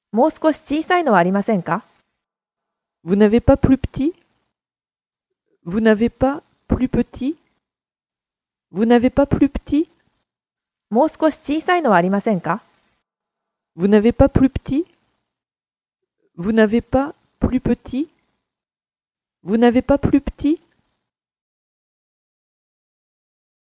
もう少し小さいのはありませんか？ Vous n'avez pas plus petit? Vous n'avez pas plus petit? Vous n'avez pas plus petit? もう少し小さいのはありませんか？ Vous n'avez pas plus petit? Vous n'avez pas plus petit? Vous n'avez pas plus petit?